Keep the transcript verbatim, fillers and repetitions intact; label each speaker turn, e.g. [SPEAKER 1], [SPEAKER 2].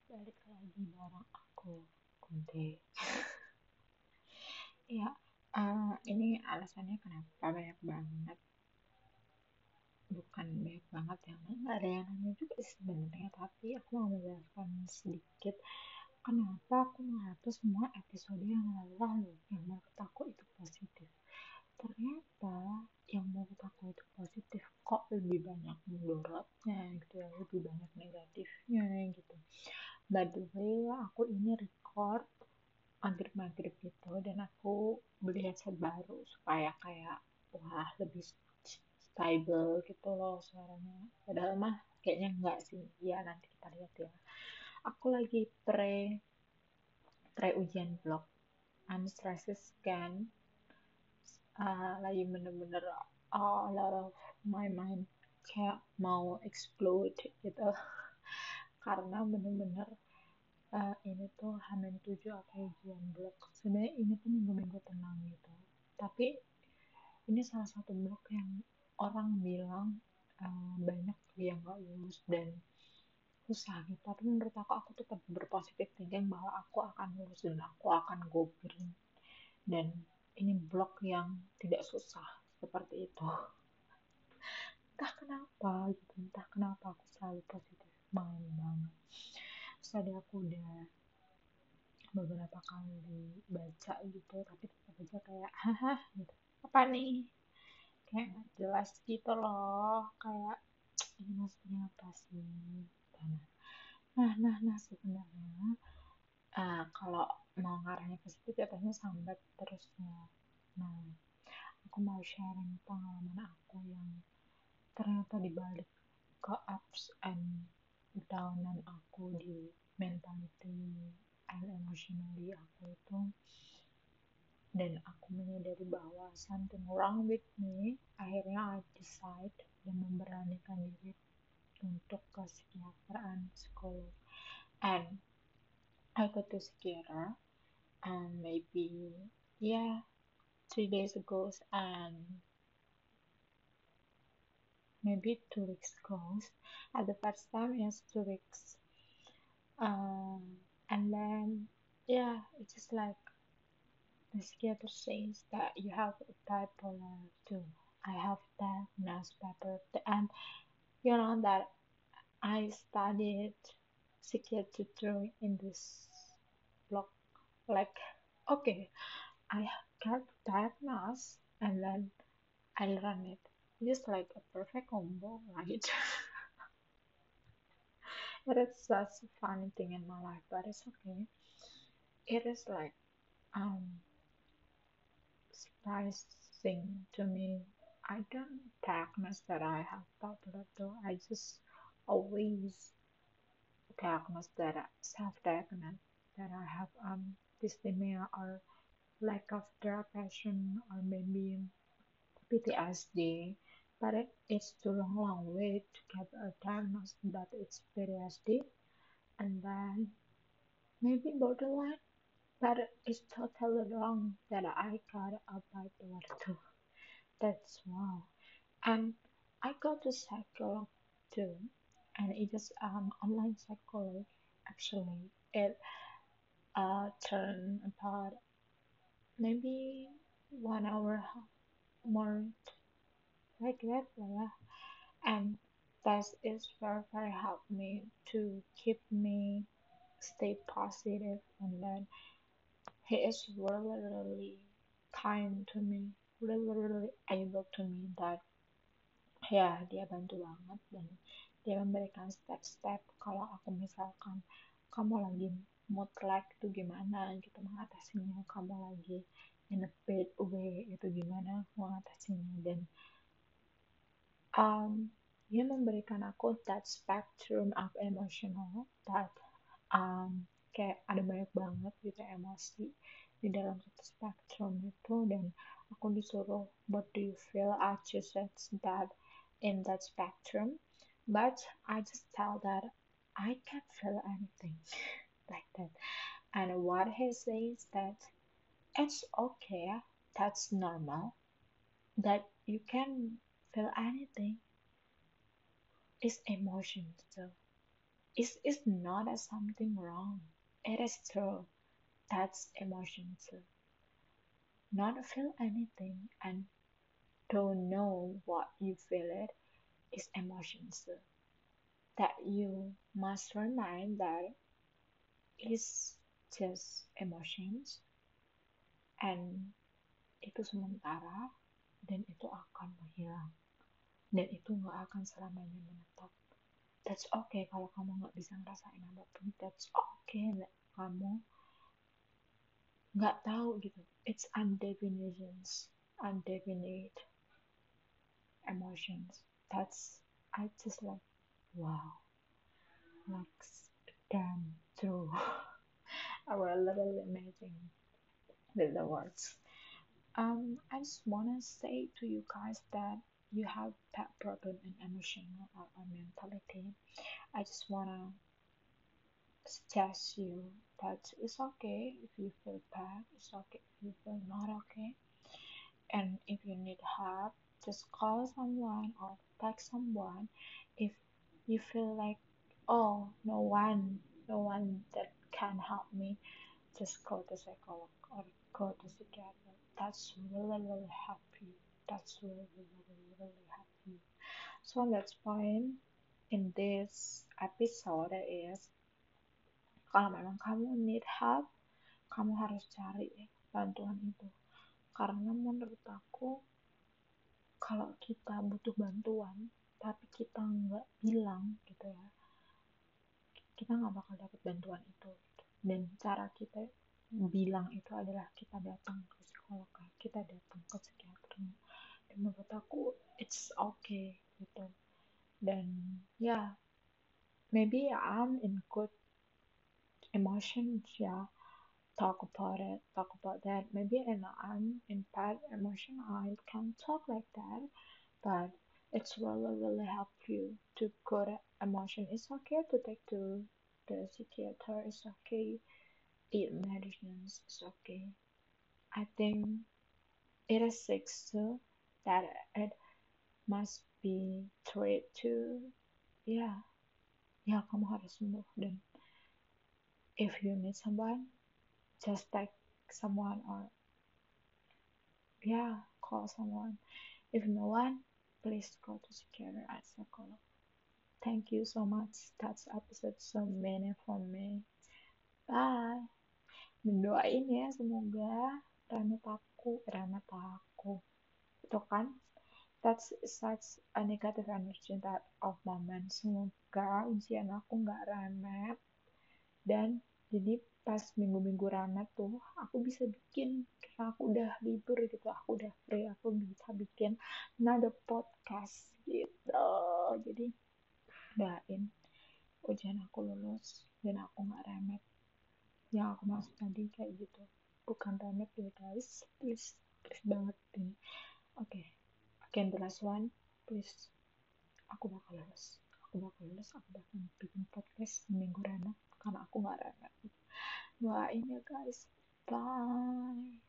[SPEAKER 1] Balik lagi bareng aku, Kunti. Ya, eh, ini alasannya kenapa banyak banget. Bukan banyak banget yang nggak ada yang nanya juga sih sebenarnya, tapi aku mau menjelaskan sedikit kenapa aku menghapus semua episode yang lalu yang menurut aku itu positif. Ternyata yang menurut aku itu positif kok lebih banyak mudorotnya gitu ya, lebih banyak negatifnya gitu. By the way, aku ini record maghrib-maghrib gitu dan aku beli headset baru supaya kayak wah lebih stable gitu loh suaranya. Padahal mah kayaknya enggak sih. Ya nanti kita lihat ya. Aku lagi pre pre ujian blog. I'm stressed kan. Uh, lagi bener-bener uh, a lot of my mind kayak mau explode gitu karena bener-bener uh, ini tuh Hamin tujuh aku ujian blog. Sebenarnya ini tuh minggu-minggu tenang gitu, tapi ini salah satu blog yang orang bilang uh, banyak yang gak lulus dan susah gitu. Tapi menurut aku aku tetap berpositif thinking bahwa aku akan lulus dan aku akan go green, dan ini blog yang tidak susah seperti itu. Entah kenapa gitu, entah kenapa aku selalu positif mind banget. Terus tadi aku udah beberapa kali baca gitu, tapi tetap aja kayak haha gitu, apa nih, kayak nggak jelas gitu loh, kayak ini maksudnya apa sih. Nah nah nah, nah sebenarnya uh, kalau mau ngarahnya ke situ jatuhnya sambat terus ya. Nah, aku mau sharing pengalaman aku yang ternyata dibalik ke ups and downan aku di mentality and emotionally aku itu, dan aku menyadari bahwa something wrong with me. Akhirnya I decide dan memberanikan diri untuk ke psikiateran psikolog, and I go to psikiater and maybe yeah three days ago, and maybe two weeks ago. At the first time is two weeks, um, and then yeah, it's just like the psychiater says that you have bipolar too. I have diagnosed bipolar, and you know that I studied psychiatry in this block. Like, okay, I got diagnosed and then I learned it. It's like a perfect combo, right? It is such a funny thing in my life, but it's okay. It is like um surprising to me. I don't diagnose that I have bipolar though. I just always diagnose that I self-diagnose that I have um dysthymia or lack of depression or maybe P T S D. But it, it's too long, long way to get a diagnosis that it's P T S D, and then maybe borderline. But it's totally wrong that I got a bipolar too. That's wow. And I go to psycholog too, and it is um online psychology. Actually, it uh turned about maybe one hour more like that, yeah. And that is very very helped me to keep me stay positive, and then he is really really kind to me, really really able to me that ya dia bantu banget, dan dia memberikan step-step kalau aku misalkan kamu lagi mood like itu gimana gitu mengatasinya, kamu lagi in a bad way itu gimana mengatasinya, dan um, dia memberikan aku that spectrum of emotional that um, kayak ada banyak banget gitu emosi di dalam satu spektrum itu, dan aku disuruh what do you feel, I just said that in that spectrum, but I just tell that I can't feel anything like that. And what he says that it's okay, that's normal, that you can feel anything is emotion. So It's, it's not as something wrong. It is true. That's emotion too. Not feel anything and don't know what you feel it is emotion too. That you must remind that it's just emotions and itu sementara dan itu akan menghilang dan itu nggak akan selamanya menetap. That's okay kalau kamu nggak bisa ngerasain apapun. That's okay that kamu nggak tahu gitu. It's undefinitions, undefinite emotions. That's I just like wow, like damn true. I was literally amazing with the words. Um, I just wanna say to you guys that you have that problem in emotional or, or mentality. I just wanna suggest you that it's okay if you feel bad. It's okay if you feel not okay. And if you need help, just call someone or text someone. If you feel like, oh, no one, no one that can help me, just go to psychologist or go to psychiatrist. That's really, really help you. That's really, really, really help you. So that's point in this episode is kalau memang kamu need help, kamu harus cari bantuan itu. Karena menurut aku, kalau kita butuh bantuan, tapi kita nggak bilang gitu ya, kita nggak bakal dapat bantuan itu. Dan cara kita bilang itu adalah kita datang ke psikolog, kita datang ke psikiater. Dan menurut aku, it's okay gitu. Dan ya, yeah, maybe I'm in good emotions ya. Yeah. Talk about it, talk about that. Maybe and I'm in bad emotion, I can talk like that, but it's really, really help you to go to emotion. It's okay to take to the psychiater. It's okay. Eat medicines. It's okay. I think it is sick too that it must be treated too. Yeah, yeah. Kamu harus sembuh dan if you need someone, just text someone or yeah, call someone. If no one, please go to psychiatrist and psychologist. Thank you so much. That's episode so many from me. Bye. Mendoain ya semoga Ramet aku, Ramet aku. Itu kan, that's such a negative energy that of moment. Semoga ujian aku nggak remet dan jadi pas minggu-minggu ramet tuh aku bisa bikin karena aku udah libur gitu, aku udah free, aku bisa bikin another podcast gitu. Jadi doain ujian aku lulus dan aku nggak remet. Yang aku maksud tadi kayak gitu, bukan remet ya guys, please please banget ini. Oke, okay. Again the last one, please. Aku bakal lulus, aku bakal lulus, aku bakal bikin podcast seminggu remet karena aku nggak remet. Doain ya guys. Bye.